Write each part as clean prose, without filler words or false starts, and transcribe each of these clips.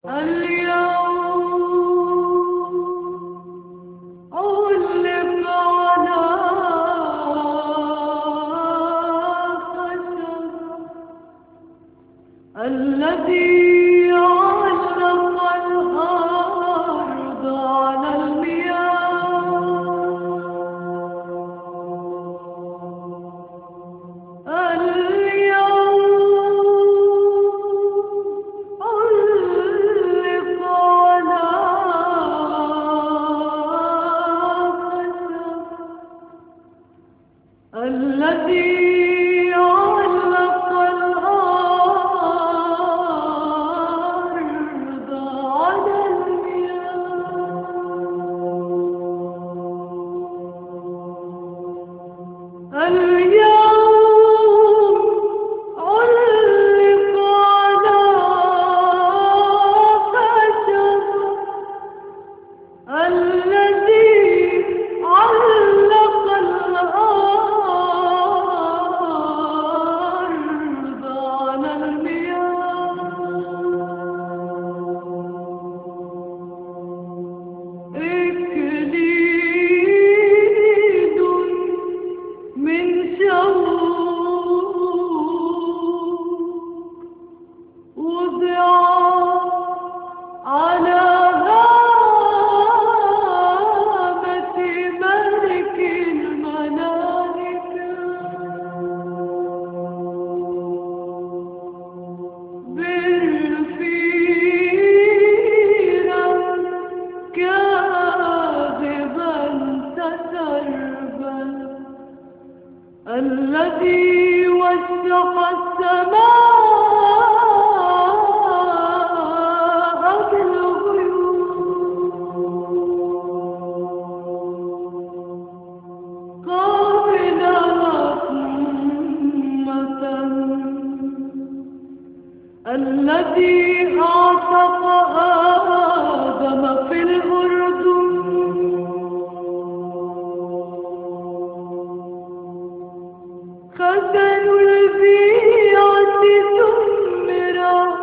اليوم علق على خشب الذي علق الأرض على المياه. الذي علق الأرض على المياه. اليوم علق على خشب الذي علق الأرض على المياه. إكليل من شوق وضع على هامة ملك الملائكة. بالفيرة كاذبا تسربل الذي وشق السماء بالغيوم قابلا رحمة الذي أعتق آدم في الأردن خزن البيعة ثمر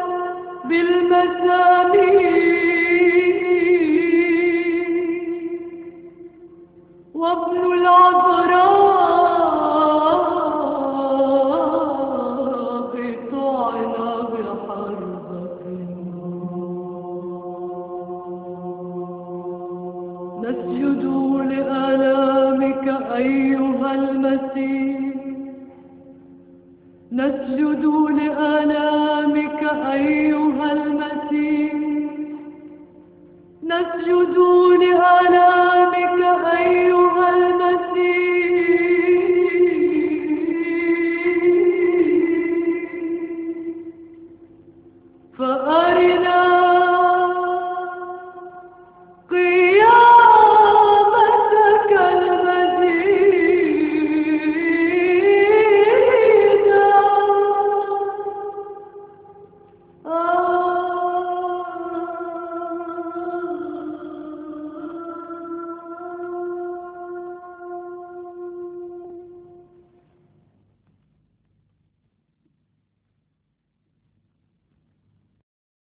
بالمسامير وابن العذراء طعن بحربة. نسجد لآلامك أيها المسيح. نسجد لآلامك أيها المسيح. نسجد لآلامك